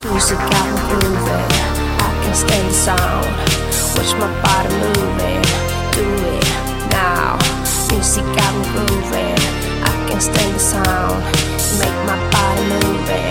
Music got me grooving, I can stand the sound. Watch my body moving, do it now. Music got me grooving, I can stand the sound. Make my body moving.